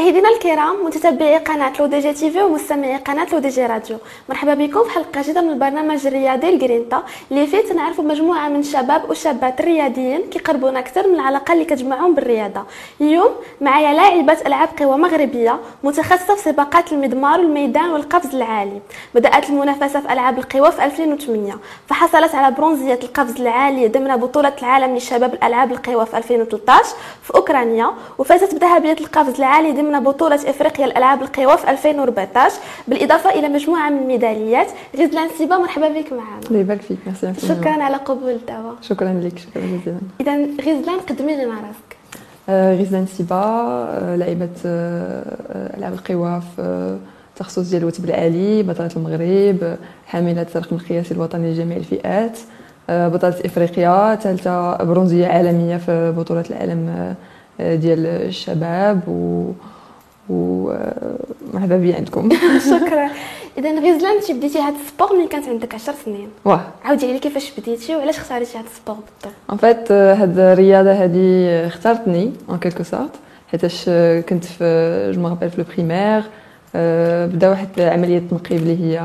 مشاهدينا الكرام، متتبعي قناة لو دي جي تي في ومستمعي قناة لو دي جي راديو، مرحبا بكم في حلقة جديدة من البرنامج الرياضي الجرينتا اللي فيه تنعرفوا مجموعة من الشباب والشابات الرياضيين كيقربونا أكثر من العلاقة اللي كتجمعهم بالرياضة. اليوم معايا لاعبة ألعاب قوى مغربية متخصصة في سباقات المضمار والميدان والقفز العالي. بدأت المنافسة في ألعاب القوى في 2008، فحصلت على برونزية القفز العالي ضمن بطولة العالم للشباب الألعاب القوى في 2013 في أوكرانيا، وفازت بذهبية القفز العالي ضمن بطولة إفريقيا الألعاب القوى في 2014 بالإضافة إلى مجموعة من الميداليات. غزلان سيبا، مرحبا بك معنا. الله يبارك فيك، ميرسي. شكرا على قبول الدعوة. شكرا لك، شكرا جزيلا. إذا غزلان، قدمي لنا راسك. غزلان سيبا، لاعبة ألعاب القوى في التخصص ديال الوثب العالي، بطلة المغرب، حاملة الرقم القياسي الوطني لجميع الفئات، بطلة إفريقيا، ثالثة برونزية عالمية في بطولة العالم ديال الشباب، ومرحبا بي عندكم. شكرا. اذا غزلان، انت بديتي هذا السبور ملي كانت عندك 10 سنين. واه، عاودي لي كيفاش بديتي وعلاش اختاريتي هذا السبور بالضبط؟ ان فيت هاد الرياضه هذه اختارتني ان كيلكو سورت، حيتاش كنت في جو مابيل في لو بريمير، بدا واحد عمليه تنقيب اللي هي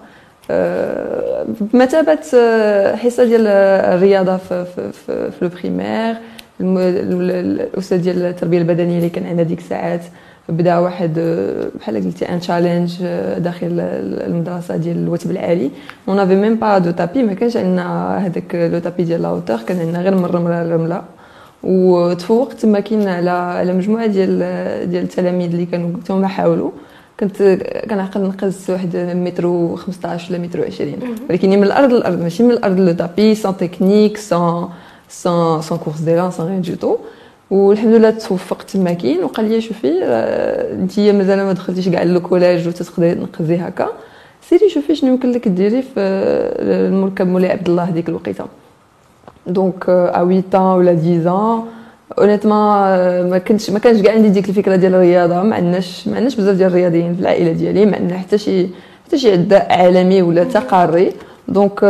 بمثابه حصه ديال الرياضه في لو بريمير. الاستاذ ديال التربيه البدنيه اللي كان عندنا ديك الساعات بدا واحد بحال قلتي ان تشالنج داخل المدرسه ديال الوثب العالي. اون افي ميم با دو تابي، ما كانش عندنا هذاك لو تابي ديال لاوتور، كان عندنا غير من الرمله. وتفوقت تما كاين على مجموعه ديال التلاميذ اللي كانوا تما حاولوا. كنت كنعقل نقز واحد متر و 15 ولا متر و 20، ولكن من الارض ماشي من الارض لو تابي، سان تكنيك، سان كورس ديلان، سان ريان دو تو. والحمد لله توفقت تما كاين، وقال لي شوفي انت مازال ما دخلتيش كاع لو كولاج وتقدري تنقزي هكا، سيري شوفي شنو يمكن لك ديري في المركب مولاي عبد الله ديك الوقيته. دونك ا 8 ans ولا 10 ans اونيتمون ما كانش كاع عندي ديك الفكره ديال الرياضه. ما عندناش بزاف ديال الرياضيين في العائله ديالي، ما عندنا حتى شي عداء عالمي ولا تقاري. دونك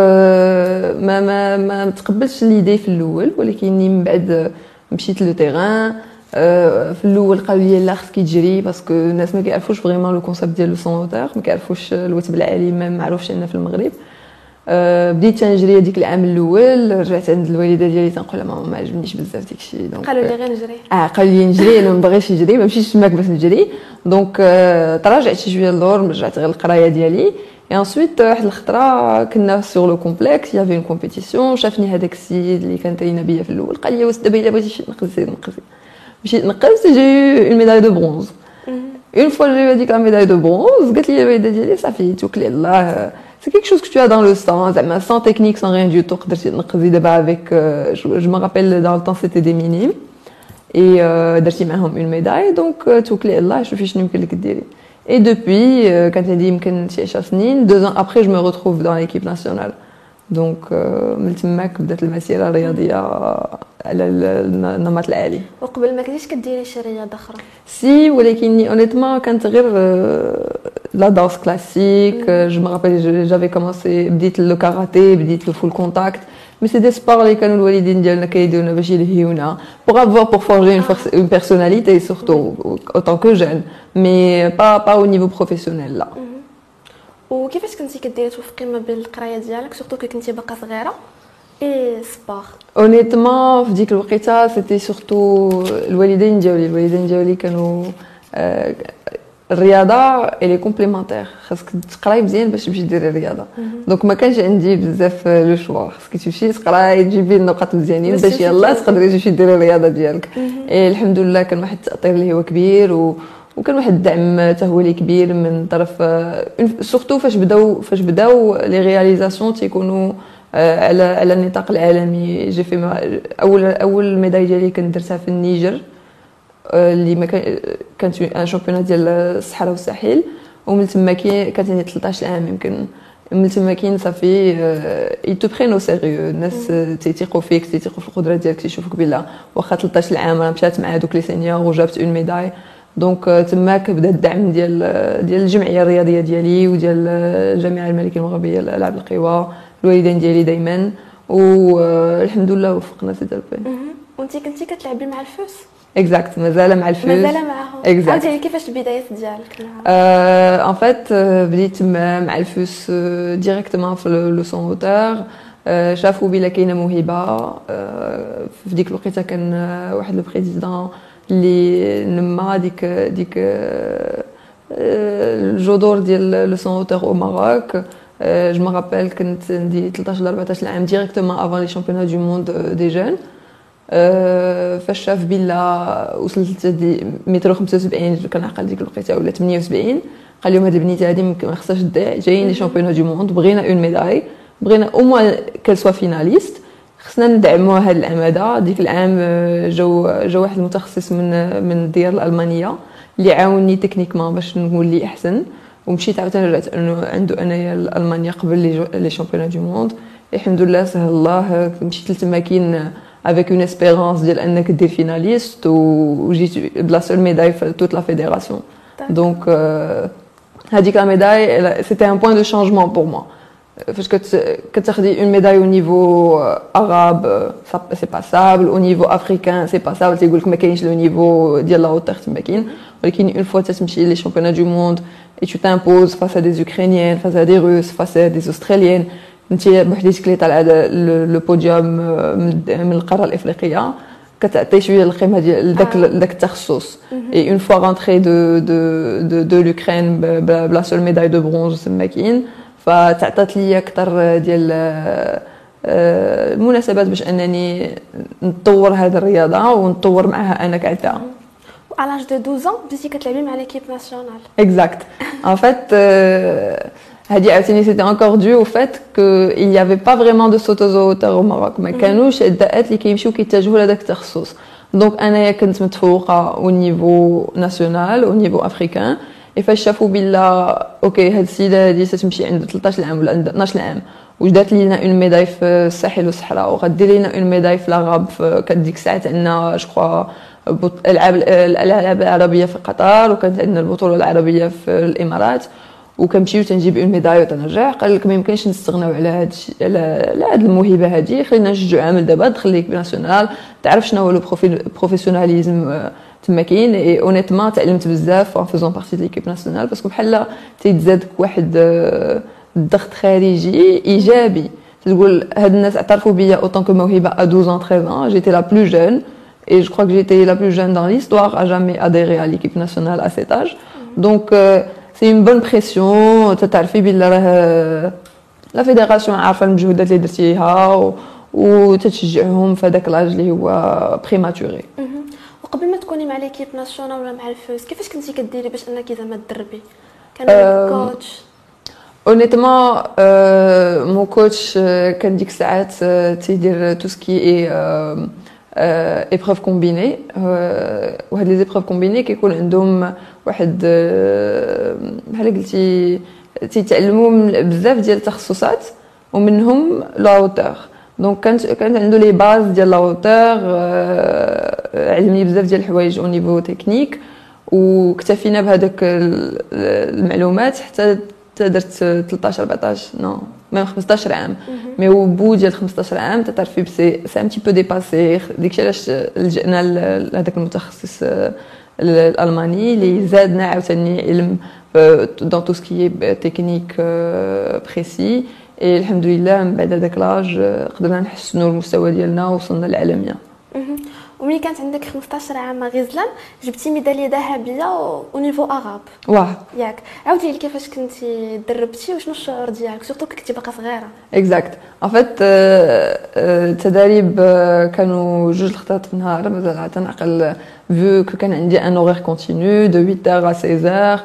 ما تقبلتش ليدي في الاول، ولكن من بعد مشيت لو تيران. في الاول قالوا لي لا خصك تجري، باسكو الناس ما كيعرفوش فريمون لو كونسيبت ديال لو سونوتور، ما كيعرفوش الوثب العالي، ما معروفش عندنا في المغرب. بديت تنجري هذيك العام الاول، رجعت عند الوالده ديالي تنقول لها ما عجبنيش بزاف داكشي. دونك قالوا لي غير نجري. قالوا لي نجري، انا ما بغيتش نجري، ما مشيتش تماك باش نجري. دونك تراجعت شي شويه للور، رجعت غير القرايه ديالي. Et ensuite واحد الخطره كنا سور لو كومبلكس، يافي اون كومبيتيسيون، شافني هذاك السيد اللي كان تاينا بيا في الاول، قال لي واش دابا الا بغيتي نقزي. مشيت نقزت، جي اون ميداي دو برونز. اون فوا جي هذيك لا ميداي دو برونز، قالت لي الوالده ديالي صافي توكلي على الله، سي كيك شوز كو تو دون لو سان، زعما سان تكنيك سان ريان دو تو، قدرتي تنقزي دابا افيك جو ما رابيل دون لو طون سيتي دي مينيم، اي درتي معاهم اون ميداي. دونك توكلي على الله، شوفي شنو يمكن لك ديري. Et depuis, quand j'ai dit يمكن شي 10 سنين، 2 ans après, je me retrouve dans l'équipe nationale. Donc من تماك بدات المسيره الرياضيه على النمط العالي. وقبل ما كنتيش كديري شي رياضه اخرى؟ سي، ولكن اونيتمون كانت غير لا دانس كلاسيك. جو me rappelle j'avais commencé، بديت لو كاراتيه، بديت لو فول كونتاكت. مي سي دي سبور اللي كانوا الوالدين ديالنا كيديرونا باش يلهيونا pour forger une personnalité surtout autant que jeune، mais pas au niveau professionnel là. وكيفاش كنتي كديري توفقي ما بين القرايه ديالك سورتو كي كنتي باقا صغيره اي سبور؟ اونيتمون في ديك الوقيته سيتي سورتو الوالدين ديالي كانوا الرياضه الي كومبليمونتير، خاصك تقراي مزيان باش تمشي ديري الرياضه. دونك ما كانش عندي بزاف لو شوا، خاصك تمشي تقراي تجيبي النقاط مزيانين باش يلاه تقدري تمشي ديري الرياضه ديالك. الحمد لله كان واحد التاثير اللي هو كبير، وكان واحد الدعم حتى هو اللي كبير من طرف سورتو فاش بداو لي رياليزاسيون تيكونوا على النطاق العالمي. جي في اول ميداي ديالي كنت درتها في النيجر، اللي ما كانت ان شامبيونات ديال الصحراء والساحل، ومن تما كانت عندي 13 عام يمكن. من تما صافي اي تو برينو سيريو، الناس تيثيقوا فيك، تيثيقوا في القدرات ديالك، تيشوفوك بلا واخا 13 عام راه مشات مع هذوك لي سينيور وجابت اون ميداي. دونك تماك بدا الدعم ديال الجمعيه الرياضيه ديالي وديال الجامعه الملكيه المغربيه للالعاب القوى، الوالدين ديالي دائما، والحمد لله وفقنا في ذلك. وانت كنتي كتلعبي مع الفوس؟ اكزاكت مازال مع الفوز. مازال معاهم. Exact. عاودي كيفاش البدايات ديالك ان فات بديت مع الفوس ديريكتومون في لو سون اوتور. شافوا بلا كاينه موهبه. في ديك الوقيته كان واحد لو بريزيدون اللي نما ديك الجذور ديال لو سون اوتور او ماروك. جو مي رابيل كنت عندي 13 ولا 14 عام ديريكتومون افون لي شامبيونات دو موند دي جون. فاش شاف بلا وصلت متر 75 كنعقل ديك الوقيته ولا 78 قال لهم هاد البنيته هادي ما خصهاش تضيع جايين لي شامبيونات دو موند بغينا اون ميداي بغينا او موان كال سوا فيناليست خصنا ندعموها هاد العام هذا. ديك العام جا واحد المتخصص من الديار الالمانيه اللي عاونني تكنيكمون باش نولي احسن ومشيت عاوتاني رجعت انه عنده انايا المانيا قبل لي شامبيونات دو موند. الحمد لله سهل الله مشيت لتماكين avec une espérance ديال انك دير فيناليست وجيت بلا سول ميداي في توت لا فيدراسيون. دونك هذيك لا ميداي سيتي ان بوين دو شانجمون بور موا. فاش كتاخدي اون ميداي او نيفو عرب سي باسابل او نيفو افريكان سي باسابل تيقول لك ما كاينش لو نيفو ديال لا هوتور تما كاين ولكن اون فوا تمشي لي شامبيونات دو موند et tu t'imposes face à des Ukrainiennes, face à des Russes, face à des Australiennes. انت بوحديتك اللي طالعه لو بوديوم من القاره الافريقيه كتعطي شويه القيمه ديال داك التخصص. اي اون فوا رونتري دو لوكرين بلا سول ميداي دو برونز تما كاين فتعطات لي اكثر ديال المناسبات باش انني نطور هذه الرياضه ونطور معها انا كعدا. À l'âge de 12 ans, بديتي كتلعبي مع l'équipe nationale. Exact. En fait, c'était encore dû au fait qu'il n'y avait pas vraiment de sauteuses en hauteur au Maroc. ما كانوش الداءات اللي كيمشيو كيتجهوا لهذاك التخصص. دونك انايا كنت متفوقه au niveau national, au niveau africain. et فاش شافوا بلا اوكي هاد السيده هادي تمشي عند 13 عام ولا عند 12 عام وجدات لينا اون ميداي في الساحل والصحراء وغدير لينا اون ميداي في العرب كديك الساعات عندنا جو كخوا الالعاب العربيه في قطر وكانت عندنا البطوله العربيه في الامارات وكنمشيو تنجيب اون ميداي وتنرجع. قال لك ما يمكنش نستغناو على هاد الشيء على هاد الموهبه هادي خلينا نشجعوا عامل دابا دخل ليك ناسيونال تعرف شنو هو لو بروفيسيوناليزم تما كاين. اي اونيتمون تعلمت بزاف ان فوزون بارتي دو ليكيب ناسيونال باسكو بحال تيتزادك واحد الضغط خارجي ايجابي تقول هاد الناس اعترفوا بيا اوطون كو موهبه ا 12 ans 13 ans جيتي لا بلو جون. Et je crois que j'étais la plus jeune dans l'histoire à jamais adhérer à l'équipe nationale à cet âge. Donc c'est une bonne pression. تعرفي بلي راه لا فيدراسيون عارفه المجهودات اللي درتيها وتتشجعهم في هذاك لاج اللي هو بريماتوري. وقبل ما تكوني مع ليكيب ناسيونال ولا مع الفوز كيفاش كنتي كديري باش انك زعما تدربي؟ كان كوتش honnêtement mon coach كان ديك الساعات تيدير tout ce qui est épreuves combinées وهاد لي épreuves combinées كيكون عندهم واحد بحال قلتي تيتعلموا بزاف ديال التخصصات ومنهم لا هوتور. دونك كانت عنده لي باز ديال لا هوتور علمني بزاف ديال الحوايج او نيفو تكنيك واكتفينا بهذاك المعلومات حتى درت 13 14 نو ميم 15 عام. مي au bout ديال 15 عام تعرفي سي ان تي بو ديباسي. داكشي علاش لجأنا لهذاك المتخصص الالماني اللي زادنا عاوتاني علم دون تو سكي تكنيك بريسي. الحمد لله من بعد هذاك لاج قدرنا نحسنوا المستوى ديالنا وصلنا للعالميه. وملي كانت عندك 15 عام غزلان جبتي ميداليه ذهبيه ونيفو اغاب. واه ياك عاودي لي كيفاش كنتي دربتي وشنو الشعور ديالك سورتو كنتي باقا صغيره؟ اكزاكت ان فيت التدريب كانوا جوج الخطات في النهار مازال تنعقل فيو كان عندي ان اورير كونتينيو دو 8h à 16h.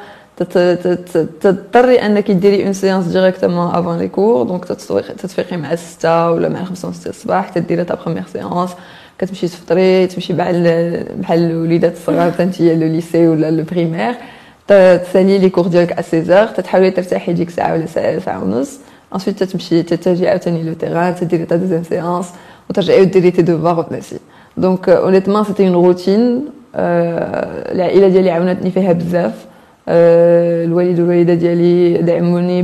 تضطري انك ديري اون سيانس ديريكتومون افون لي كور دونك تتفيقي مع 6 ولا مع 5 6 الصباح تديري تا بروميير سيانس كتمشي تفطري تمشي بحال الوليدات الصغار تنتي لو ليسي ولا لو بريمير تسالي لي كور ديالك على 16h تتحاولي ترتاحي ديك ساعه ولا ساعه ونص. انsuite تمشي تتجي عاوتاني لو تيران تديري تا دوزيام سيانس وترجعي وديري تي دوفوار وتنسي. دونك اونيتمون سيتي اون روتين. العائله ديالي عاونتني فيها بزاف. الوالد والوالده ديالي دعموني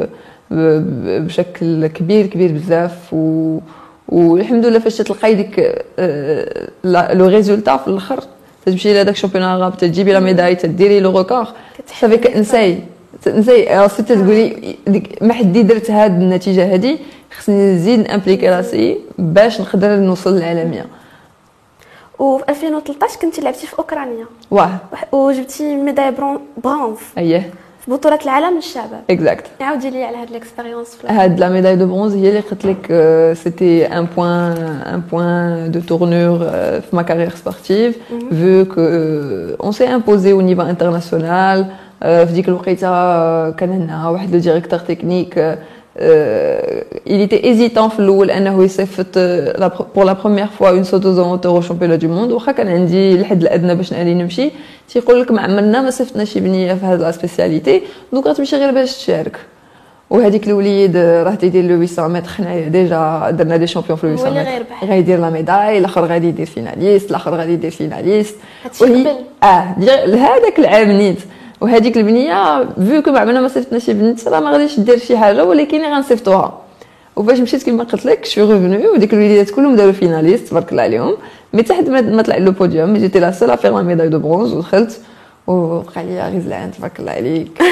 بشكل كبير بزاف والحمد لله فاش تلقاي ديك لو ريزولتا في الاخر تمشي لهذاك الشامبيون غاب تجيبي لا ميداي تديري لو ريكور صافي كنساي صافي تقولي ما حدي درت هاد النتيجه هذه خصني نزيد امبليكي راسي باش نقدر نوصل للعالميه. وفي 2013 كنتي لعبتي في اوكرانيا واه وجبتي ميداي برونز اييه في بطوله العالم للشباب. اكزاكت. عاودي لي على هاد ليكسبيريونس. هاد لا ميداي دو برونز هي اللي قلت لك سيتي ان بوين دو تورنور في ما كارير سبورتيف vu que on s'est imposé au niveau international. في ديك الوقيته كان عندنا واحد لو ديريكتور تكنيك il était hésitant في الاول انه يصيفط pour la première fois une sauteuse en hauteur au championnat du monde. واخا كان عندي الحد الادنى باش نالي نمشي تيقول لك ما عمرنا ما صيفطنا شي بنيه في هذه لا سبيسياليتي دونك غتمشي غير باش تشارك. وهذيك الوليد راه تيدير لو 800 متر حنايا ديجا درنا دي شامبيون في لو 800 متر غيدير لا ميداي الاخر غادي يدير فيناليست الاخر غادي يدير فيناليست وهي هذاك العام نيت. وهذيك البنيه فيو كو ما عمرنا ما صيفطنا شي بنت راه ما غاديش دير شي حاجه ولكن غنصيفطوها. وفاش مشيت كما قلت لك شو ريفونو وديك الوليدات كلهم داروا فيناليست تبارك الله عليهم مي حتى ما طلع لو بوديوم جيتي لا سول افير لا ميداي دو برونز ودخلت وبقى لي غزلان تبارك الله عليك.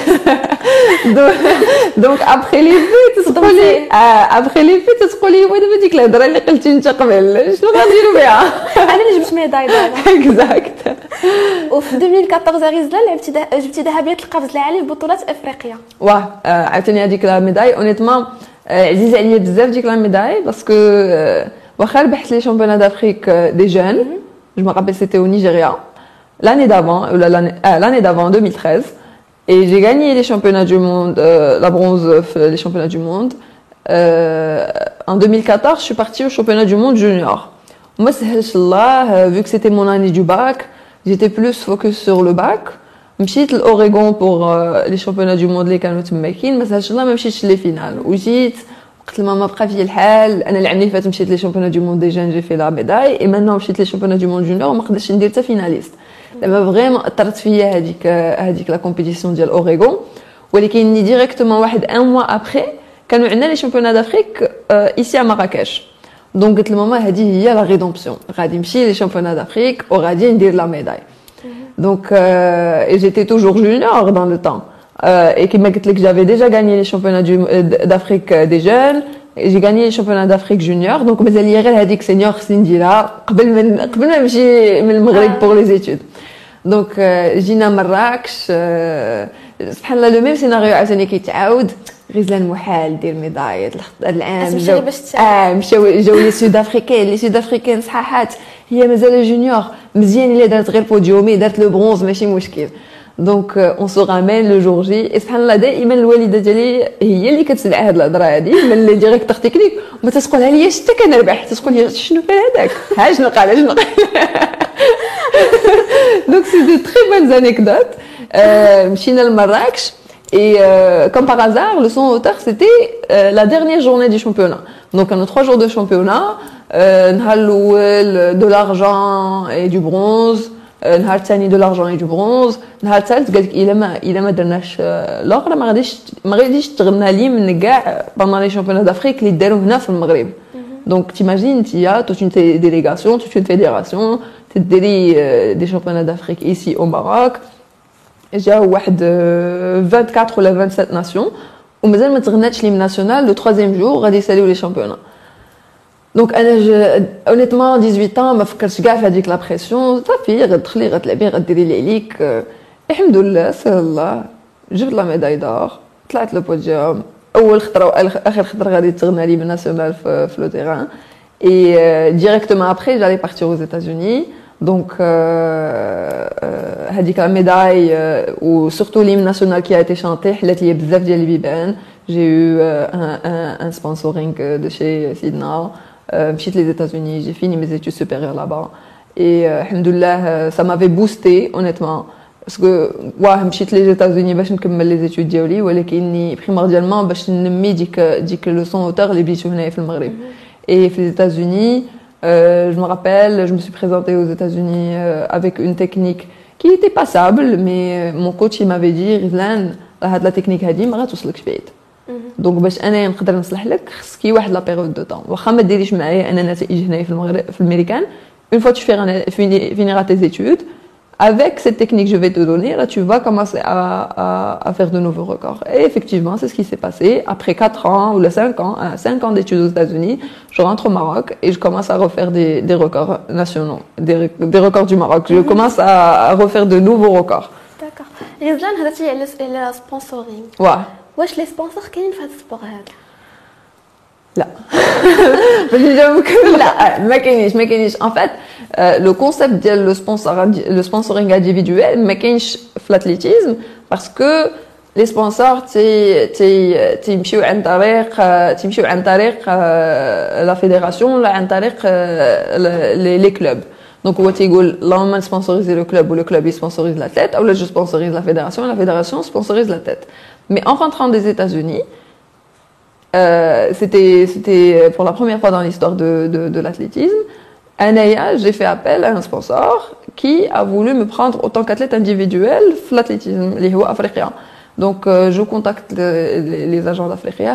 دونك ابخي لي في تقولي ابخي لي في تقولي وين ديك الهضره اللي قلتي انت قبل شنو غنديروا بها انا اللي جبت ميداي دابا. اكزاكت. وفي 2014 غزلان جبتي ذهبيه القفز العالي في بطولات افريقيا. واه عاوتاني هذيك لا ميداي اونيتمون عزيزه عليا بزاف ديك لا ميداي باسكو واخا ربحت لي شامبيون دافريك دي جون جو me rappelle c'était au Nigeria l'année d'avant l'année d'avant 2013 et j'ai gagné les championnats du monde la bronze les championnats du monde en 2014 je suis partie au championnat du monde junior. Moi سهلش الله vu que c'était mon année du bac j'étais plus focus sur le bac. مشيت لأوريغون pour les championnats du monde اللي كانوا تماكين ما سهلش الله ما مشيتش لي فينال وجيت قلت لماما بقى فيا الحال انا العام اللي فات مشيت لي شامبيون دو موند دي جون جي في لا ميداي اي مانو مشيت لي شامبيون دو موند جونيور وما قدرتش ندير حتى فيناليست. دابا فريمون اثرت فيا هذيك لا كومبيتيسيون ديال اوريغون ولكن ني ديريكتومون واحد ان موا ابري كانوا عندنا لي شامبيون دافريك ايسي ا مراكش. دونك قلت لماما هذه هي لا ريدومبسيون غادي نمشي لي شامبيون دافريك وغادي ندير لا ميداي. Donc j'étais toujours junior dans le temps et comme je disais j'avais déjà gagné les championnats d'Afrique des jeunes et j'ai gagné les championnats d'Afrique junior donc مازال لي غير هذيك سينيور خصني نديرها قبل ما نمشي من المغرب pour les études. Donc جينا مراكش سبحان الله لو ميم سيناريو عاوتاني كيتعاود غزلان محال دير ميداي العام جاو لي سود افريكان صحاحات هي مازال جونيور مزيان اللي دارت غير بوديومي دارت لو برونز ماشي مشكل. دونك اون سو رامين لو جور جي سبحان الله دائما الوالده ديالي هي اللي كتسمع هاد الهضره هادي من لي ديريكتور تكنيك وما تقولها لي حتى كنربح تقول لي شنو قال هذاك ها شنو قال دونك سي دو تري بون انيكدوت. مشينا لمراكش et comme par hasard le son hauteur c'était la dernière journée du championnat donc on a 3 jours de championnat نهار الاول de l'argent et du bronze نهار الثاني de l'argent et du bronze نهار الثالث قالك الا ما درناش الاخرى ما غاديش تغنى لي من كاع pendant les championnats d'Afrique اللي داروا هنا في المغرب. donc t'imagines il y a toute une délégation toute une fédération تديري des championnats d'Afrique ici au Maroc جاو واحد 24 ولا 27 ناسيون ومازال ما تغناتش لي ناسيونال لو 3 جور غادي يساليو لي شامبيونا. دونك انا اونيتمون 18 ما فكرتش كاع في هذيك لا بريسيون صافي غتدخلي غتلعبي غديري اللي عليك. الحمد لله سهل الله جبت لا ميداي دور طلعت لو بوديوم اول خطره واخر خطره غادي تغنى لي بالناسيونال في لو تيران اي ديريكتومون ابري جالي بارتير aux États-Unis. Donc هذيك لا ميداي وسورتو ليم ناسيونال كي ايتي شانتي حلات لي بزاف ديال البيبان. جي يو ان سبونسورينغ دو شي سيدنا مشيت لي États-Unis j'ai fini mes études supérieures là-bas et الحمد لله ça m'avait boosté honnêtement parce que واه مشيت لي États-Unis باش نكمل لي études ديالي ولكني بريمورديالمون باش نمي ديك لو سون اوتور اللي بديتو هنايا في المغرب. et في les États-Unis je me rappelle, je me suis présentée aux États-Unis avec une technique qui était passable, mais mon coach il m'avait dit Rizlan, la technique هذه ما غتوصلكش بعيد. donc باش انا نقدر نصلح لك خصك واحد لا بيريود دو طون واخا ما ديريش معايا انا نتائج هنايا في المغرب في الامريكان une fois que tu finiras tes études, avec cette technique que je vais te donner, là, tu vas commencer à faire de nouveaux records. Et effectivement, c'est ce qui s'est passé. Après 4 ans ou 5 ans, 5 ans d'études aux États-Unis, je rentre au Maroc et je commence à refaire des records nationaux, des records du Maroc. Je commence à refaire de nouveaux records. D'accord. غزلان هضرتي على سبونسورينغ. Ouais. واش لي سبونسور كاينين في هذا السبور هذا؟ لا باش نجاوبك لا ما كاينيش en fait le concept ديال le sponsoring individuel ما كاينش في l'athlétisme parce que les sponsors تيمشيو عن طريق la fédération ولا عن طريق les clubs. Donc هو تيقول اللهم نسبونسوريزي لو كلوب و le club sponsorise l'athlète ou là je sponsorise la fédération sponsorise l'athlète. Mais en rentrant des États-Unis, c'était pour la première fois dans l'histoire de l'athlétisme. Anaya, j'ai fait appel à un sponsor qui a voulu me prendre en tant qu'athlète individuel dans l'athlétisme, les Hua africains. Donc je contacte les agents d'Africa,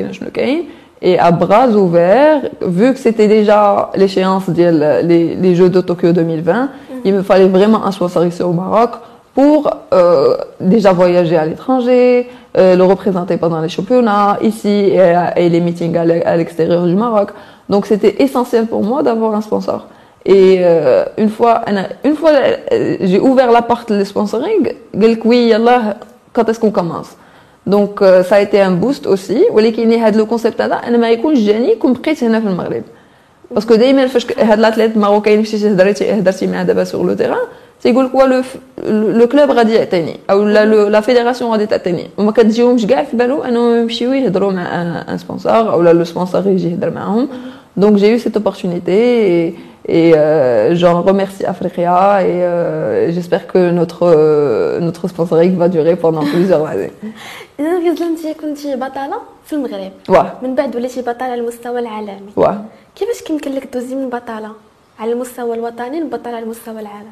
et à bras ouverts, vu que c'était déjà l'échéance des Jeux de Tokyo 2020, il me fallait vraiment un sponsor ici au Maroc pour déjà voyager à l'étranger, le représenter pendant les championnats ici et les meetings à l'extérieur du Maroc. Donc c'était essentiel pour moi d'avoir un sponsor. Et une fois j'ai ouvert la porte du sponsoring, قال لك oui يلا quand est-ce qu'on commence. Donc ça a été un boost aussi. ولكن هذا le concept هذا انا ما يكونش جاني كون بقيت هنا في المغرب. Parce que دائما فاش هاد l'athlète marocain مشيتي هضرتي معاه دابا sur le terrain, تيقول لك لو كلوب غادي يعطيني او لا فيدراسيون غادي تعطيني وما كتجيهمش كاع في بالو انهم يمشيو يهضروا مع ان سبونسور او لو سبونسور يجي يهضر معاهم. Donc j'ai eu cette opportunité et j'en remercie Africa et j'espère que notre sponsoring va durer pendant plusieurs années. إذا غزلان أنت كنتي بطلة في المغرب. واه. من بعد وليتي بطلة على المستوى العالمي. واه. كيفاش كيمكن لك دوزي من بطلة على المستوى الوطني لبطلة على المستوى العالمي؟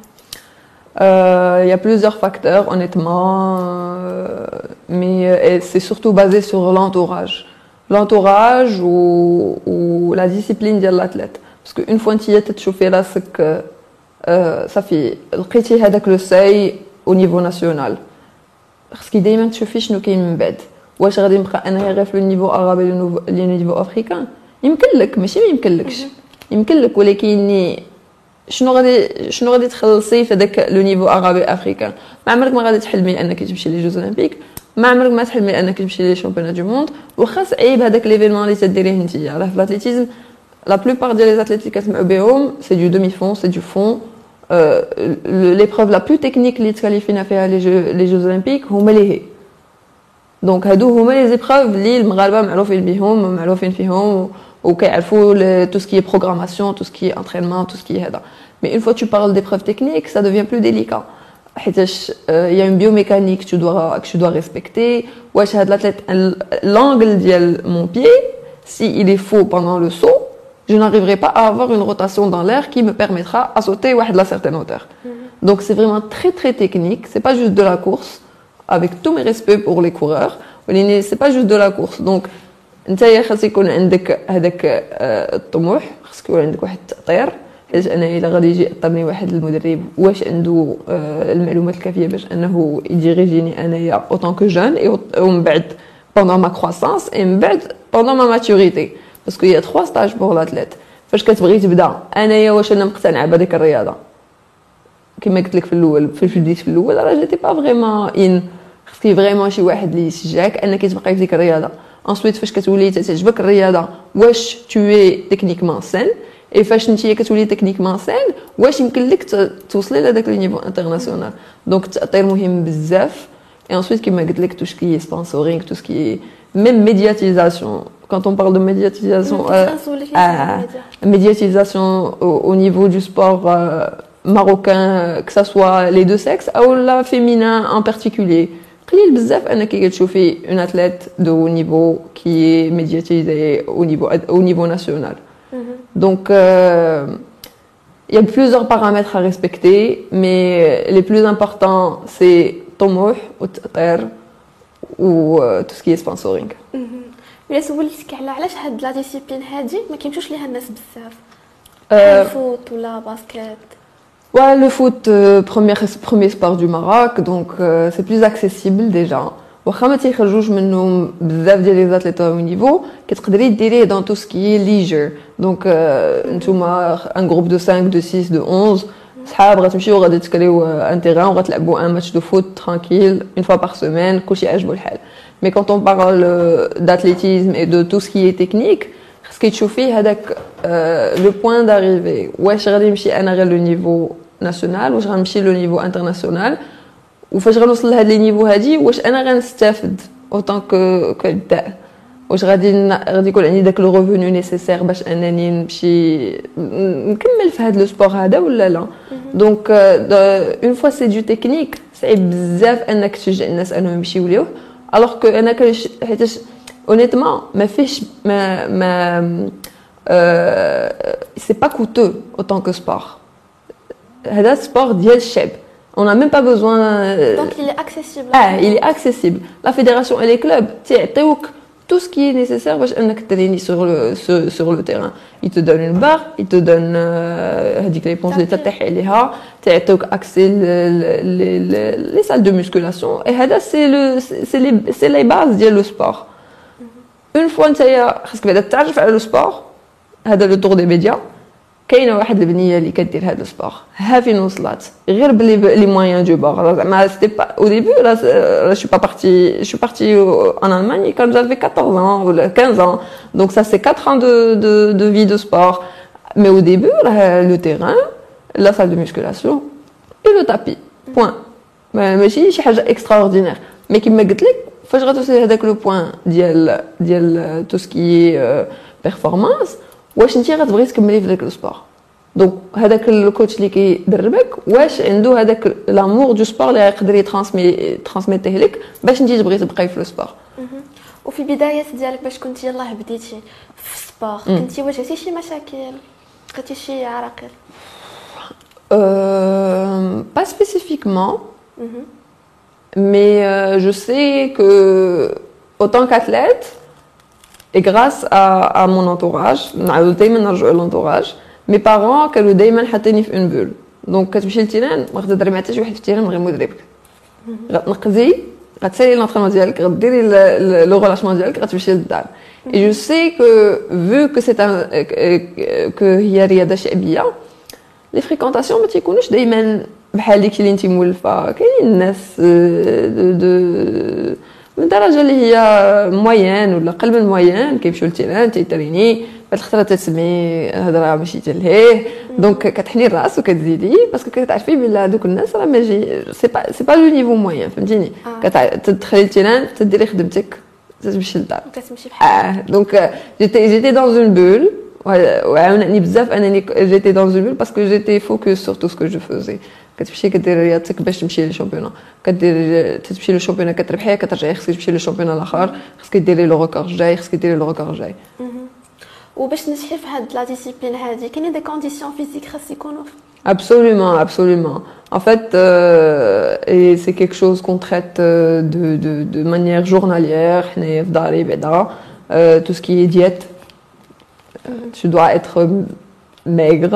Il y a plusieurs facteurs, honnêtement, mais c'est surtout basé sur l'entourage. L'entourage ou la discipline de l'athlète. Parce qu'une fois que tu as chauffé là, c'est que ça fait le seuil au niveau national. Parce qu'il y a des choses qui sont bêtes. Ou est-ce que tu as le niveau arabe et le niveau africain? يمكن لك ماشي ما يمكنلكش يمكن لك ولكن شنو غادي تخلصي في هذاك لو نيفو عربي افريكان ما عمرك ما غادي تحلمي انك تمشي لي جوز اولمبيك ما عمرك ما تحلمي انك تمشي لي شامبيونات دو موند واخا صعيب هذاك ليفينمون اللي تديريه نتيا راه في الاتليتيزم لا بلوبار ديال لي اتليت اللي كتسمعوا بهم سي دو دومي فون سي دو فون l'épreuve la plus technique اللي تكاليفينا فيها لي جوز اولمبيك هما لي هي دونك هادو هما لي زيبروف اللي المغاربه معروفين بهم معروفين فيهم وكيعرفوا tout ce qui est programmation, tout ce qui est entraînement, tout ce qui est هذا. Mais une fois que tu parles d'épreuves techniques, ça devient plus délicat. Il y a une biomécanique que tu dois respecter. واش هاد l'athlète l'angle ديال mon pied, si il est faux pendant le saut, je n'arriverai pas à avoir une rotation dans l'air qui me permettra à sauter واحد la certaine hauteur. Donc c'est vraiment très très technique, c'est pas juste de la course avec tous mes respects pour les coureurs, mais c'est pas juste de la course. Donc نتايا خاص يكون عندك هذاك الطموح خاص يكون عندك واحد التأطير حيت انا الا غادي يجي يطرني واحد المدرب واش عنده المعلومات الكافيه باش انه يديريجيني انايا اوطون كو جون ومن بعد pendant ma croissance et من بعد pendant ma maturité parce qu'il y a 3 stages pour l'athlète فاش كتبغي تبدا انايا واش انا مقتنعه بهذيك الرياضه كما قلت لك في الاول فاش بديت في الاول راه جيتي با فريمون خصك فريمون شي واحد اللي يشجعك انك تبقاي في ديك الرياضه. Ensuite, فاش كتولي تعجبك الرياضه واش tu es techniquement sain et فاش نتيا كتولي techniquement sain واش يمكن لك توصلي لهذاك لو نيفو انترناسيونال. دونك التأطير مهم بزاف et ensuite كما قلت لك tout ce qui est sponsoring, tout ce qui est même médiatisation. Quand on parle de médiatisation au niveau du sport marocain, que ça soit les deux sexes ou la féminin en particulier. قليل بزاف انك كتشوفي une athlète de haut niveau qui est médiatisée au niveau national. Donc il y a plusieurs paramètres à respecter mais les plus importants c'est طموح والتأطير و tout ce qui est sponsoring. ولا سولتك على علاش هاد لا ديسيبلين هادي ما كيمشوش ليها الناس بزاف. الفوت ولا باسكت؟ Ouais, le foot, premier sport du Maroc, donc c'est plus accessible déjà. واخا ما تيخرجوش منه بزاف ديال لي زاتليت او نيفو كتقدري ديريه dans tout ce qui est leisure. Donc نتوما un groupe de 5 de 6 de 11 صحاب غتمشيو غادي تكريو ان تيران وغتلعبوا un match de foot tranquille une fois par semaine كلشي عاجبو الحال. Mais quand on parle d'athlétisme et de tout ce qui est technique, خاصك تشوفي هذاك le point d'arrivée. واش غادي نمشي انا غير le niveau national واش غنمشي le niveau international وفاش غنوصل لهاد لي نيفو هادي واش انا غنستافد اوطون كبداء واش غادي يكون عندي داك لو ريفوني نيسيسير باش انني نمشي نكمل في هاد لو سبور هذا ولا لا. دونك اون فوا سي دو تكنيك صعيب بزاف انك تشجع الناس انهم يمشيو ليه الوغ كو انا حيتاش اونيتمون ما فيهش ما سي با كوتو اوطون كو سبور. هذا سبور ديال الشعب. On n'a même pas besoin. Donc il est accessible. Ah, il est accessible. La fédération et les clubs, tout ce qui est nécessaire pour t'entraîner sur le terrain. Ils te donnent une barre, ils te donnent l'éponge de t'as accès les salles de musculation. Et ça c'est les bases du sport. Une fois que tu as le sport, c'est le tour des médias. كاينه واحد البنيه اللي كدير هذا السبور ها فين وصلت غير بلي لي مويان دو بور زعما سيتي با او ديبي لا شو با بارتي شو بارتي en Allemagne quand j'avais 14 ans ou 15 ans donc ça c'est 4 ans de vie de sport mais au début le terrain la salle de musculation et le tapis point ماشي شي حاجه extraordinaire mais كيما قلت لك فاش غتوصلي هذاك لو بوين ديال tout ce qui est performance واش انت غتبغي تكملي في داك السبور. دونك هذاك الكوتش اللي كيدربك واش عنده هذاك لامور دو سبور اللي يقدر ترانسميتيه لك باش انت تبغي تبقاي في السبور. وفي البدايات ديالك باش كنتي يلاه بديتي في السبور كنتي واجهتي شي مشاكل لقيتي شي عراقيل؟ pas spécifiquement mais je sais que autant qu'athlète et grâce à mon entourage, l'entourage, mes parents كانوا دائما حاطيني في une bulle. Donc كتمشي للتيران ما غتهضري مع حتى شي واحد في التيران غير مدربك. غتنقزي غتسالي لونطرينمون ديالك غديري لو ريلاشمون ديالك غتمشي للدار. Et je sais que vu que c'est que هي رياضة شعبية les fréquentations ما تيكونوش دائما بحال ديك اللي انت مولفه. كاينين الناس من درجه اللي هي موين ولا قل من موين كيمشيو للتيران تيتريني بعد الخطره تسمعي هضره ماشي تلهيه دونك كتحني الراس وكتزيدي باسكو كتعرفي بلا دوك الناس راه ماشي سي با لو نيفو موين فهمتيني كتدخلي للتيران تديري خدمتك تمشي للدار كتمشي بحال دونك جيتي dans une bulle وعاونني بزاف انني جيتي dans une bulle parce que j'étais focus sur tout ce que je faisais. كتمشي كدير رياضتك باش تمشي للشامبيون كدير تمشي للشامبيون كتربحيه كترجعي خصك تمشي للشامبيون الاخر خصك ديري لو ريكورد جاي خصك ديري لو ريكورد جاي. وباش تنجحي في هاد لا ديسيبلين هادي كاينين دي كونديسيون فيزيك خاص يكونوا absolument en fait et c'est quelque chose qu'on traite de manière journalière حنايا في داري بعدا tout ce qui est diète tu dois être maigre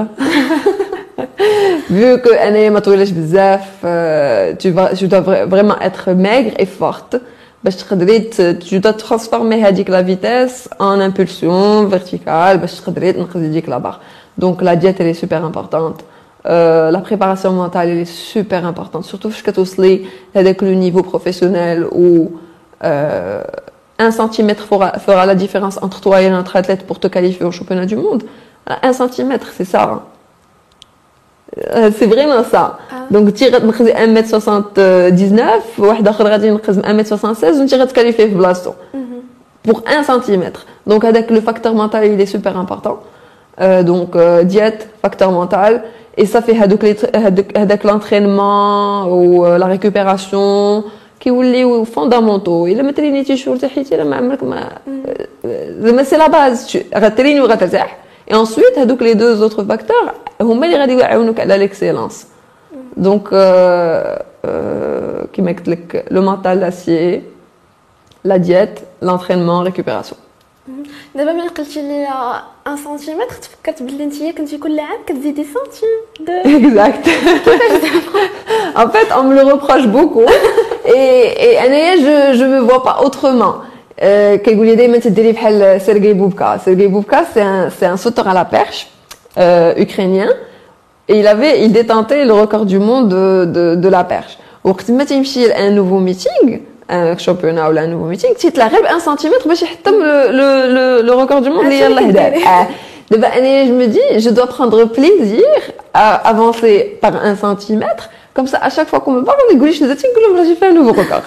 vu que أنا ما طويلش بزاف tu dois vraiment être maigre et forte باش تقدري tu dois transformer هذيك la vitesse en impulsion verticale باش تقدري تنقذي ديك la barre. Donc la diète elle est super importante. La préparation mentale elle est super importante surtout فاش كتوصلي هذاك le niveau professionnel où 1 centimètre fera la différence entre toi et un autre athlète pour te qualifier au championnat du monde. 1 centimètre c'est ça. C'est vraiment ça. Donc tu غتنقزي 1m79 واحد اخر غادي ينقز 1m76 وانت غتكاليفيه في بلاصتو pour 1 centimètre. Donc هذاك le facteur mental il est super important. Donc diète, facteur mental et ça fait هذاك l'entraînement ou la récupération كيوليو فوندامونتو. الا ما ترينيتيش وارتحيتي راه ما عمرك ما زعما سي لا باز غتريني وغترتاح. Et ensuite هذوك les deux autres facteurs هما اللي غادي يعاونوك على l'excellence. Donc كيما قلت لك le mental l'acier, la diète, l'entraînement, récupération. دابا ملي قلتي لي 1 سنتيمتر تفكرت بلي نتيا كنتي كل عام كتزيدي سنتيم. Exact. En fait, on me le reproche beaucoup. Et أنايا je me vois pas autrement. كيقول لي دائما تديري بحال سيرغي بوبكا. Sergei Bubka, c'est un sauteur à la perche ukrainien. Et il détentait le record du monde de la perche. وقت ما تمشي un nouveau meeting, un championnat ou un nouveau meeting, تيتلاعب 1 سنتيمتر باش يحطم le record du monde اللي يلاه دار. دابا أنايا je me dis, je dois prendre plaisir à avancer par 1 centimètre. Comme ça, à chaque fois qu'on me parle, on يقول لي شنو درتي نقول لهم j'ai fait un nouveau record.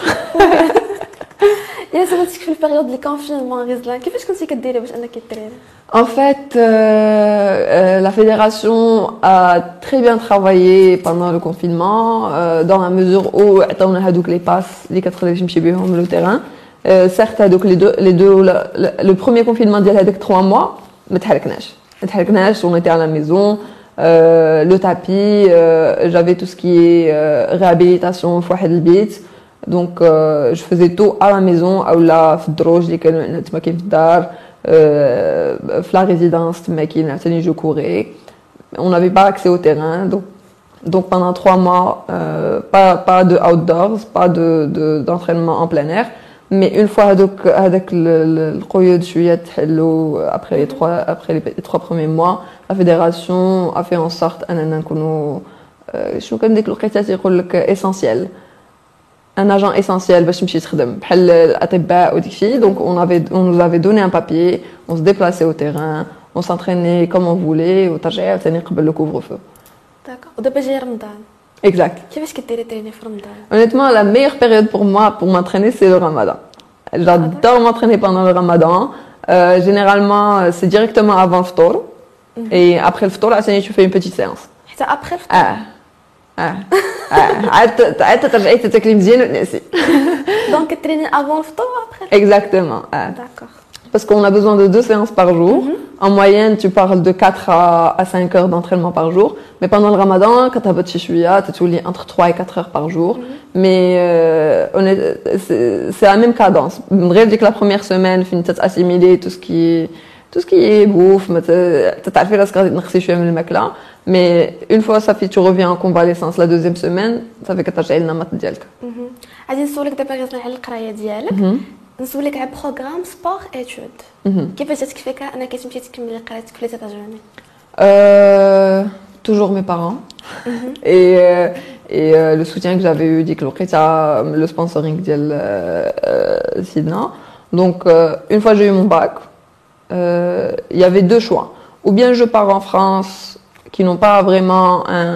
يا سمعتك في البيريود ديال الكونفينمون غزلان كيفاش كنتي كديري باش انك تريني؟ En fait, la fédération a très bien travaillé pendant le confinement, dans la mesure où on a donc les passes, les 4 اللي تمشي بهم le terrain. Certes, donc les deux, le premier confinement ديال هذاك 3 mois, ما تحركناش, on était à la maison. Le tapis, j'avais tout ce qui est réhabilitation في واحد البيت. Donc je faisais tout à la maison اولا في الدروج اللي كانوا عندنا تما كاين في الدار. في la résidence تما كاين عاوتاني je courais. On n'avait pas accès au terrain, donc pendant 3 mois pas de outdoors, pas d'entraînement en plein air. Mais une fois هذاك القيود شويه تحلوا après les 3 premiers mois, la fédération a fait en sorte اننا نكونوا شنو كان ديك الوقيته تيقول لك essentiel. Un agent essentiel باش تمشي تخدم بحال الاطباء وداكشي. Donc on nous avait donné un papier, on se déplaçait au terrain, on s'entraînait comme on voulait وترجعي عاوتاني قبل لو couvre-feu. داكور. ودابا جاي رمضان. Exact. كيفاش كديري تريني في رمضان؟ Honnêtement, la meilleure période pour moi pour m'entraîner c'est le Ramadan. J'adore m'entraîner pendant le Ramadan. Généralement c'est directement avant le ftour. Et après le ftour, عاوتاني tu fais une petite séance. حتى ابخي الفطور. عاد ترجعي تاكلي مزيان وتنعسي. دونك تريني افون الفطور وابخي. Exactement. داكور. Parce qu'on a besoin de 2 séances par jour. En moyenne, tu parles de 4 à 5 heures d'entraînement par jour. Mais pendant le Ramadan, quand tu as votre chouïa, tu es entre 3 et 4 heures par jour. Mais c'est la même cadence. Bref, dès que la première semaine, tu as assimilé tout ce qui est bouffe, tu as fait la scarde de makla. Mais une fois ça fait, tu reviens en convalescence la 2e semaine, ça fait que tu as le namat dialka. غادي نسولك دابا غير على القرايه ديالك. نسولك على بروغرام سبور ايتود. كيفاش جاتك فكره انك تمشي تكملي قرايتك في لي États-Unis؟ Toujours mes parents. Et le soutien que j'avais eu ديك الوقيته, le sponsoring ديال Sidna. Donc une fois j'ai eu mon bac, il y avait 2 choix. Ou bien je pars en France qui n'ont pas vraiment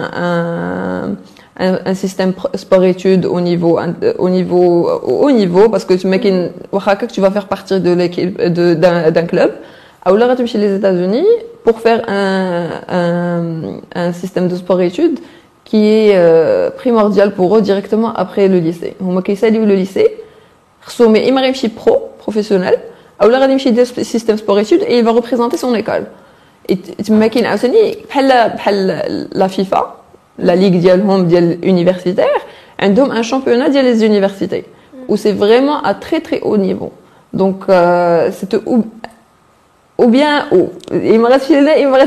un système sport-études au niveau parce que tu vas faire partie de l'équipe d'un club. Ou là, tu vas chez les États-Unis pour faire un système de sport-études qui est primordial pour eux directement après le lycée. Moi, qui sais le lycée, mais il m'a professionnel. Ou là, tu vas chez le système sport-études et il va représenter son école. Et tu m'as dit que la FIFA, la ligue ديال universitaire, عندهم un championnat ديال les universités où c'est vraiment à très très haut niveau. Donc c'est ou bien il me reste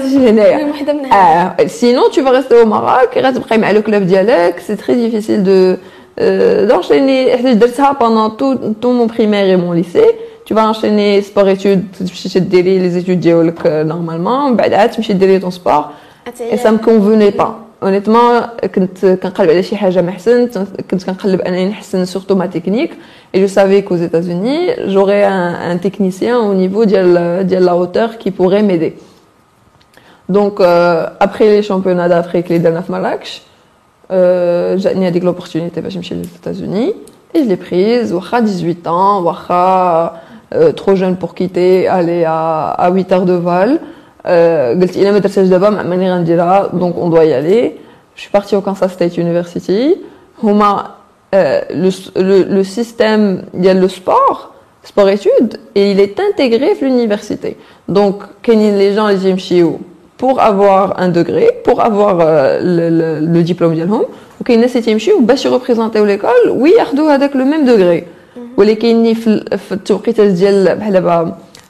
sinon tu vas rester au Maroc et غتبقى مع le club ديالك. C'est très difficile d'enchaîner. درتها pendant tout mon primaire et mon lycée. Tu vas enchaîner sport-études, tu vas les études normalement, بعدها تمشي ديري ton sport. Et ça me convenait pas. Honnêtement, كنت كنقلب على شي حاجه ما احسن, كنت كنقلب انني نحسن surtout ma technique. Et je savais qu'aux États-Unis, j'aurais un technicien au niveau de la hauteur qui pourrait m'aider. Donc après les championnats d'Afrique les derniers Marrakech, j'ai eu l'opportunité باش نمشي aux États-Unis et je l'ai prise. Wacha 18 ans, wacha trop jeune pour quitter, aller à 8 heures de vol. قلت إلا ما درتهاش دابا ماني غنديرها, donc on doit y aller. Je suis partie au Kansas State University. هما le système ديال le sport études, et il est intégré في l'université. Donc كاينين les gens اللي يمشيو pour avoir un degré, pour avoir le diplôme ديالهم, وكاين الناس اللي يمشيو باش يريبريزونطيو ليكول وياخذوا هذاك le même degré. ولكن في التوقيتات ديال بحال دابا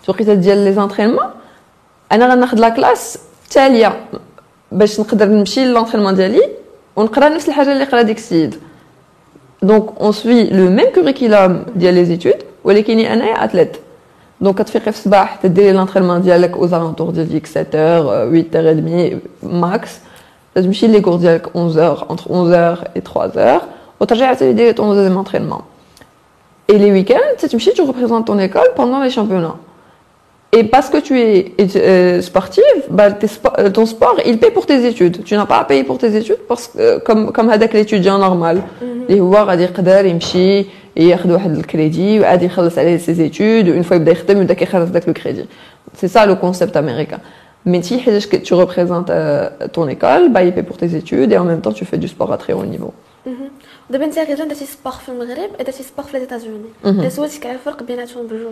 توقيته ديال لي زونطرينمون انا غناخذ لا كلاس تاليه باش نقدر نمشي للونطرينمون ديالي ونقرا نفس الحاجه اللي قرا ديك السيد. دونك اون سوي لو ميم كوريكولوم ديال لي زيتود ولكني انايا اتليت. دونك كتفيقي في الصباح تديري لونطرينمون ديالك او زالونتور ديال 7h 8h30 ماكس، تمشي لي كور ديالك 11h entre 11h et 3h وترجعي عاوتاني ديري طون دوزيام انطرينمون. Et les week-ends, tu représentes ton école pendant les championnats. Et parce que tu es sportive, bah, ton sport, il paye pour tes études. Tu n'as pas à payer pour tes études parce que, comme avec l'étudiant normal. اللي هو غادي يقدر يمشي ياخذ واحد الكريدي وعادي يخلص عليه ses études une fois يبدا يخدم يبدا كيخلص داك الكريدي. C'est ça le concept américain. Mais si tu représentes ton école, bah, il paye pour tes études et en même temps tu fais du sport à très haut niveau. دابا انت غير درتي سبور في المغرب درتي سبور في لي ايتازوني، الا سولتك على الفرق بيناتهم بجوج.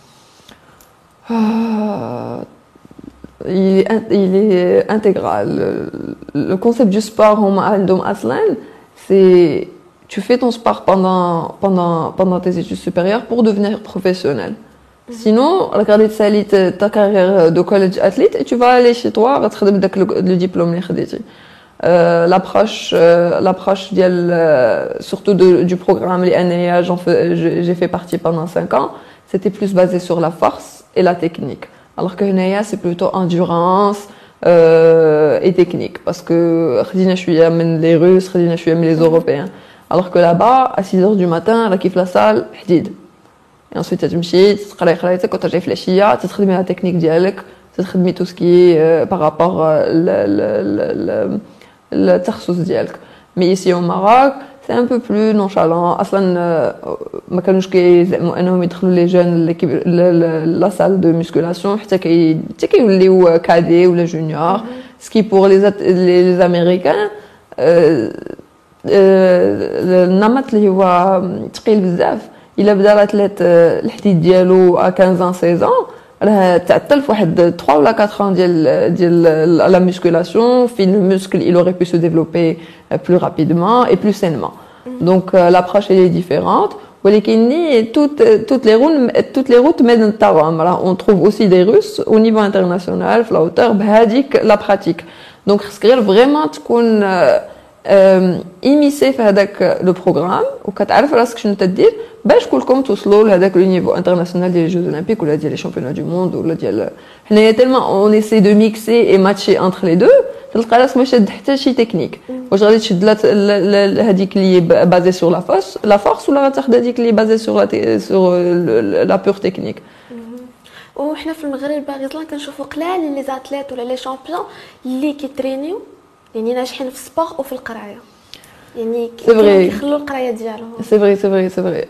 Il est intégral. Le concept du sport c'est tu fais ton sport pendant tes études supérieures pour devenir professionnel. Sinon, regarder ta carrière de college athlète et tu vas aller chez toi retrouver le diplôme اللي خديتي. L'approche surtout du programme les j'ai fait partie pendant 5 ans, c'était plus basé sur la force et la technique, alors que Naya c'est plutôt endurance et technique parce que خدينا شويه من les Russes خدينا شويه من les Européens, alors que là-bas à 6h du matin là كيف la salle حديد et ensuite تمشي تقراي قرايتك وترجعي في العشيه تخدمي la technique ديالك تخدمي tout ce qui est par rapport التخصص ديالك. Mais ici au Maroc, c'est un peu plus nonchalant. اصلا ما كانوش كيزعموا انهم يدخلوا لي جون لا salle de musculation حتى كيوليو كادي ولا جونيور. Ce qui pour les américains النمط اللي هو ثقيل بزاف. الا بدا الاتليت الحديد ديالو 15 ans 16 ans راه تعطل في واحد 3 ولا 4 ans ديال la musculation, puis le muscle il aurait pu se développer plus rapidement et plus sainement. Donc l'approche elle est différente. ولكن toutes les routes mènent à Rome. On trouve aussi des Russes au niveau international في la hauteur بهذيك la pratique. Donc خصك غير vraiment تكون immiscé في هذاك لو بروغرام وكتعرف راسك شنو تدير باش كلكم توصلوا لهذاك لو نيفو انترناسيونال ديال لي جوز اولمبيك ولا ديال لي شامبيونات دو موند ولا ديال حنايا تالمون اون ايسي دو ميكسي اي ماتشي انتر لي دو تلقى راسك ما شاد حتى شي تكنيك. واش غادي تشد هذيك اللي بازي سور لا فورس ولا غتاخذ هذيك اللي بازي سور لا بور تكنيك. وحنا في المغرب باغي كنشوفوا قلال لي زاتليت ولا لي شامبيون اللي كيترينيو يعني ناجحين في السبور وفي القرايه يعني كيخلوا القرايه ديالهم. سي فري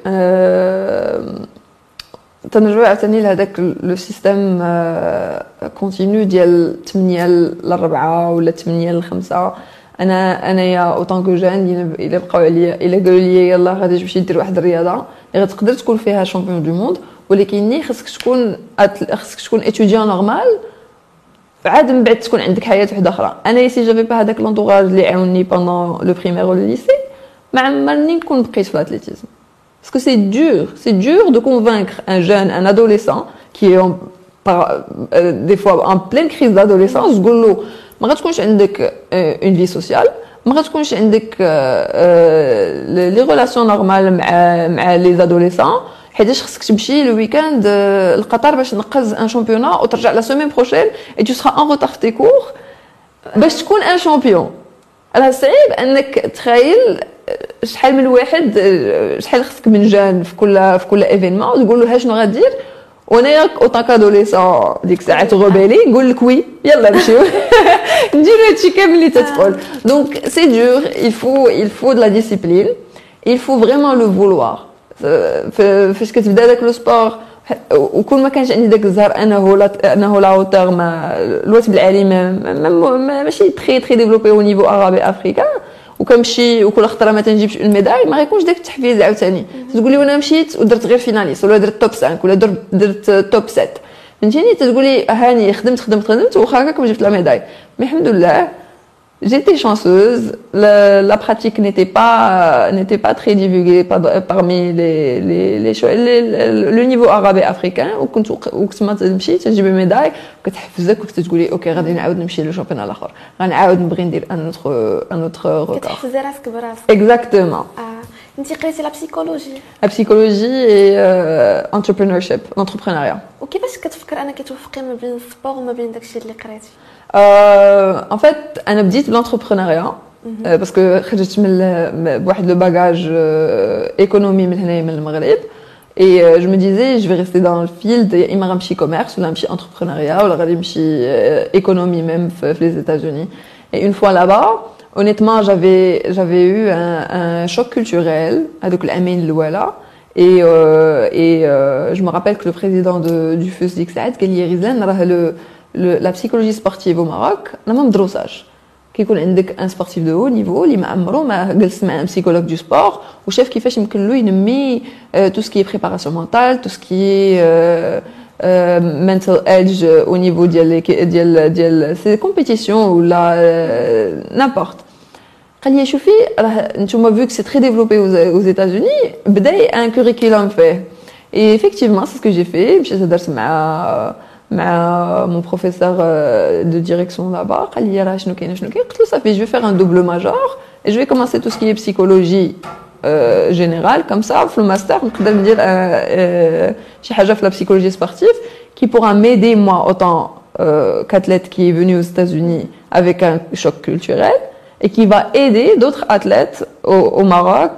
تنرجعوا عاوتاني لهذاك لو سيستيم كونتينيو ديال 8 ل 4 ولا 8 ل 5. انايا اوطون كو جان الا بقاو عليا الا قالوا لي يلاه غادي تمشي دير واحد الرياضه اللي غتقدر تكون فيها شامبيون دو موند ولكن خصك تكون اتوديون نورمال عاد من بعد تكون عندك حياه وحده اخرى. انا سي جافي با هذاك لونطوراج اللي عاوني بوندون لو بريمير ولا ليسي ما عمرني نكون بقيت في الاتليتيزم parce que c'est dur de convaincre un jeune, un adolescent qui est des fois en pleine crise d'adolescence تقول له ما غتكونش عندك une vie sociale ما غتكونش عندك les relations normales مع les adolescents حيتاش خصك تمشي لو ويكاند لقطر باش تنقز ان شامبيونا وترجع لا سيمين بروشين اي تو سرا ان روتار في تي كور باش تكون ان شامبيون. راه صعيب انك تخيل شحال من واحد شحال خصك من جان في كل ايفينمون وتقول له ها شنو غدير وانا اوطون كادوليسون ديك الساعه تغوبالي نقول لك وي يلا نمشيو نديرو هادشي كامل اللي تتقول. دونك سي دور il faut de la discipline, il faut vraiment le vouloir. فاش كتبدا داك لو سبور وكل ما كانش عندي داك الزهر انه لا هوتور ما الوثب العالي ماشي تري ديفلوبي او نيفو عربي افريكان وكنمشي وكل خطره ما تنجيبش اون ميداي ما غيكونش داك التحفيز عاوتاني تقولي وانا مشيت ودرت غير فيناليست ولا درت توب 5 ولا درت توب 7 فهمتيني تقولي هاني خدمت واخا هكاك ما جبت لا ميداي. مي الحمد لله j'étais chanceuse. La pratique n'était pas très divulguée parmi le niveau arabe et africain. وكنت ما تمشي تجيب ميداي كتحفزك وكتقولي اوكي غادي نعاود نمشي للشامبيون الاخر غنعاود نبغي ندير ان اوتر ريكورد. كتحفزي راسك براسك. اكزاكتومون. انت قريتي لا بسيكولوجي. لا بسيكولوجي اي انتربرينورشيب لونتربرونيا. وكيفاش كتفكر انك توفقي ما بين السبور وما بين داكشي اللي قريتي؟ En fait, انا بديت l'entrepreneuriat parce que خرجت من بواحد لو باجاج ايكونومي من هنايا من المغرب et je me disais je vais rester dans le field يا اما غنمشي commerce ولا غنمشي entrepreneuriat ولا غادي نمشي économie même في les États-Unis. Et une fois là-bas, honnêtement, j'avais eu un choc culturel هذوك العامين الاولى. Et je me rappelle que le président du FUS ديك الساعات قال لي غزلان راه la psychologie sportive au Maroc n'a même drossage. كيكون عندك un sportif de haut niveau اللي ما عمره ما جلس مع un psychologue du sport وشاف كيفاش يمكن له ينمي tout ce qui est préparation mentale, tout ce qui est mental edge au niveau ديال ces compétitions ou là n'importe. قال لي شوفي راه نتوما vu que c'est très développé aux États-Unis بداي un curriculum fait. Et effectivement c'est ce que j'ai fait. مشيت درت مع mon professeur de direction là-bas قال لي راه شنو كاين قلت له صافي je vais faire un double major et je vais commencer tout ce qui est psychologie générale comme ça في الماستر نقدر ندير شي حاجه في la psychologie sportive qui pourra m'aider moi autant qu'athlète qui est venu aux États-Unis avec un choc culturel et qui va aider d'autres athlètes au Maroc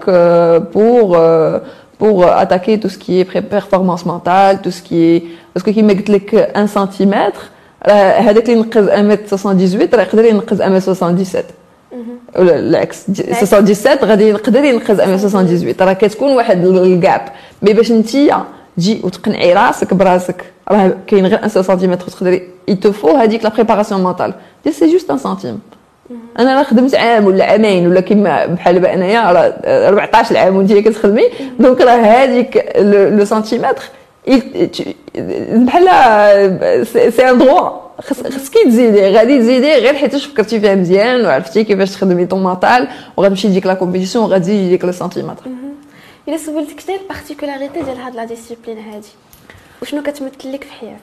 pour attaquer tout ce qui est performance mentale, tout ce qui est parce que qui met لك 1 cm هذاك اللي ينقز 1m78 راه يقدر ينقز 1m77 ولا العكس 77 غادي يقدر ينقز 1m78 راه كتكون واحد الجاب مي باش نتيا تجي وتقنعي راسك براسك راه كاين غير 1 سنتيمتر تقدري يتفو هذيك لا بريباراسيون مونطال دي سي جوست 1 سنتيم. انا راه خدمت عام ولا عامين ولا كيما بحال دابا انايا راه 14 عام وانت كتخدمي دونك راه هذيك لو سنتيمتر بحال سي ان دروا خصك تزيدي غادي تزيدي غير حيت فكرتي فيها مزيان وعرفتي كيفاش تخدمي طون مونطال وغتمشي ديك لا كومبيتيسيون وغتزيدي ديك لو سنتيمتر. الا سولتك شنو البارتيكولاريتي ديال هاد لا ديسيبلين هادي وشنو كتمثل لك في حياتك؟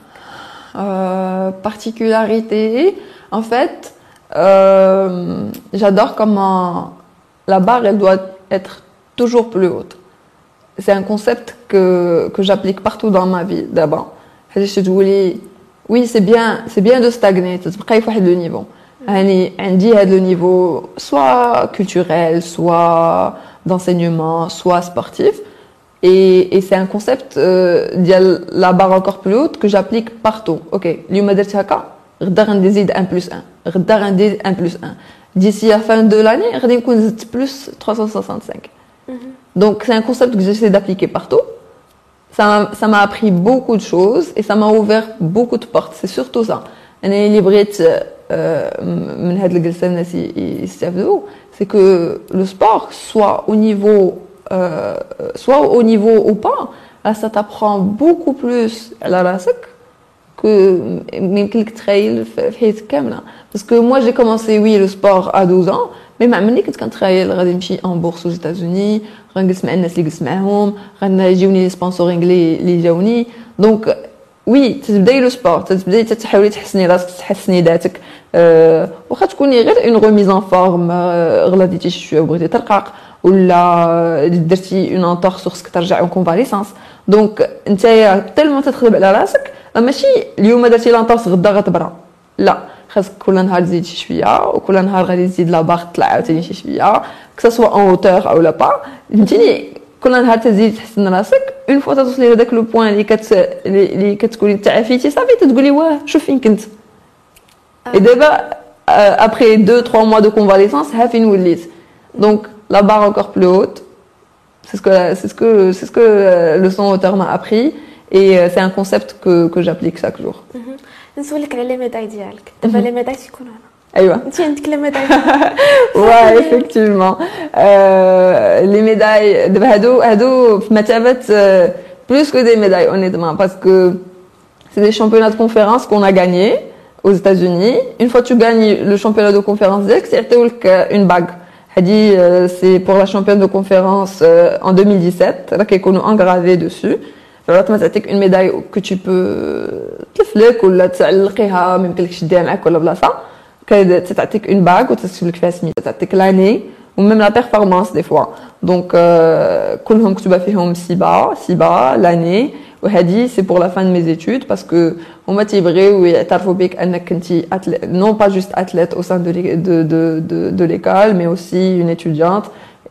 Particularité, en fait, j'adore comment la barre elle doit être toujours plus haute. C'est un concept que j'applique partout dans ma vie d'abord. Oui, c'est bien de stagner, تبقاي في واحد le niveau. يعني عندي هذا le niveau soit culturel, soit d'enseignement, soit sportif. Et c'est un concept ديال la barre encore plus haute que j'applique partout. OK, اليوم درت هكا غدا غنزيد 1+1 غدا غندير 1+1 d'ici la fin de l'année غادي نكون زدت plus 365. Donc c'est un concept que j'essaie d'appliquer partout. Ça m'a appris beaucoup de choses et ça m'a ouvert beaucoup de portes. C'est surtout ça. انا اللي بغيت من هاد الجلسه الناس يستافدوا c'est que le sport soit au niveau ou pas, là ça t'apprend beaucoup plus على راسك que يمكن لك تخيل في حياتك كامله. Parce que moi j'ai commencé le sport à 12 ans mais ما عمرني كنت كنتخيل غادي نمشي en bourse aux États-Unis غنجلس مع الناس اللي جلست معاهم غنجيوني لي سبونسورينغ اللي جاوني. دونك تبداي لو سبور تبداي تحاولي تحسني راسك تحسني ذاتك واخا تكوني غير اون ريميز ان فورم غلطتي شويه وبغيتي ترقق ولا درتي اون انتورس خصك ترجع اون كونفاليسانس. دونك نتايا تالمون تتخدم على راسك ماشي اليوم درتي لانتورس غدا غتبرا لا خاصك كل نهار تزيد شي شويه وكل نهار غادي تزيد لا باغ تطلع عاوتاني شي شويه كسا سوا اون اوتور او لا با فهمتيني كل نهار تزيد تحسن راسك اون فوا توصلي لهذاك لو بوين اللي كتقولي تعافيتي صافي تتقولي واه شوف فين كنت. اي دابا après 2-3 mois de convalescence ها فين وليت. Donc la barre encore plus haute, c'est ce que le son auteur m'a appris et c'est un concept que j'applique chaque jour. نسولك على لي ميداي ديالك دابا لي ميداي تيكونوا هنا ايوا انت عندك لي ميداي ouais effectivement les médailles دابا هادو في مثابه plus que des médailles honnêtement parce que c'est des championnats de conférence qu'on a gagnés aux États-Unis. Une fois que tu gagnes le championnat de conférence d'Aix, c'est une bague. C'est pour la championne de conférence en 2017, là qui est engravé dessus. Alors, tu as une médaille que tu peux تلفلك ولا تعلقيها ما يمكنلكش تديها معاك ولا بلاصه. تعطيك une bague وتكتب لك فيها سميتها تعطيك l'année ou même la performance des fois. Donc كلهم مكتوبه فيهم سيبا l'année وهذه c'est pour la fin de mes études parce que هما تيبغيو يعترفوا بك انك كنتي non pas juste athlète au sein de l'école mais aussi une étudiante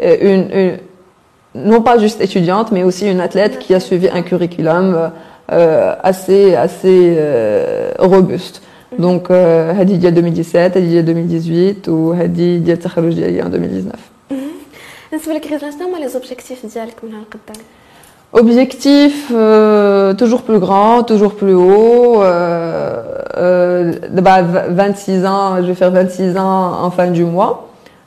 non pas juste étudiante mais aussi une athlète qui a suivi un curriculum assez robuste. Donc هذه ديال 2017 هذه ديال 2018 وهذه ديال التخرج ديالي en 2019. بالنسبه لك غير شنو هما لي زوبجيكتيف ديالك من هنا لقدام؟ Objectif toujours plus grand, toujours plus haut. 26 ans, je vais faire 26 ans en fin du mois.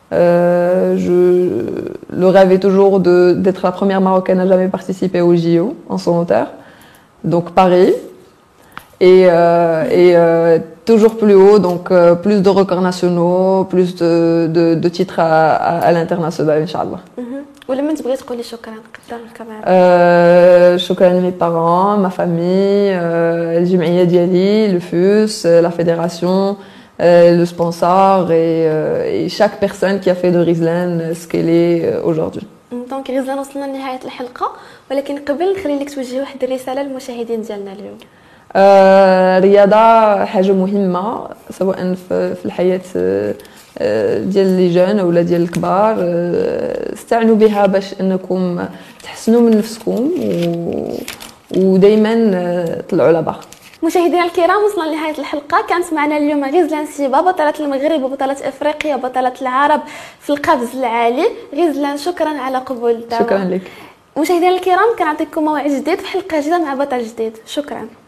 Le rêve est toujours d'être la première Marocaine à jamais participer au JO en solitaire. Donc Paris. Et toujours plus haut, donc plus de records nationaux, plus de titres à l'international, Inch'Allah. ولما تبغي تقولي شكرا قدام الكاميرا؟ شكرا à mes parents, ma famille, الجمعية ديالي, le FUS, la fédération, le sponsor et chaque personne qui a fait de Rizlan ce qu'elle est aujourd'hui. دونك غيزلان وصلنا لنهاية الحلقة ولكن قبل نخلي لك توجهي واحد الرسالة للمشاهدين ديالنا اليوم. الرياضة حاجة مهمة سواء في الحياة ديال لي جون ولا ديال الكبار استعنوا بها باش انكم تحسنوا من نفسكم ودائما طلعوا لبا. مشاهدينا الكرام وصلنا لنهاية الحلقة. كانت معنا اليوم غيزلان سيبا بطلة المغرب وبطلة افريقيا وبطلة العرب في القفز العالي. غيزلان شكرا على قبول الدعوة. شكرا لك. مشاهدينا الكرام كنعطيكم موعد جديد في حلقة جديدة مع بطل جديد. شكرا.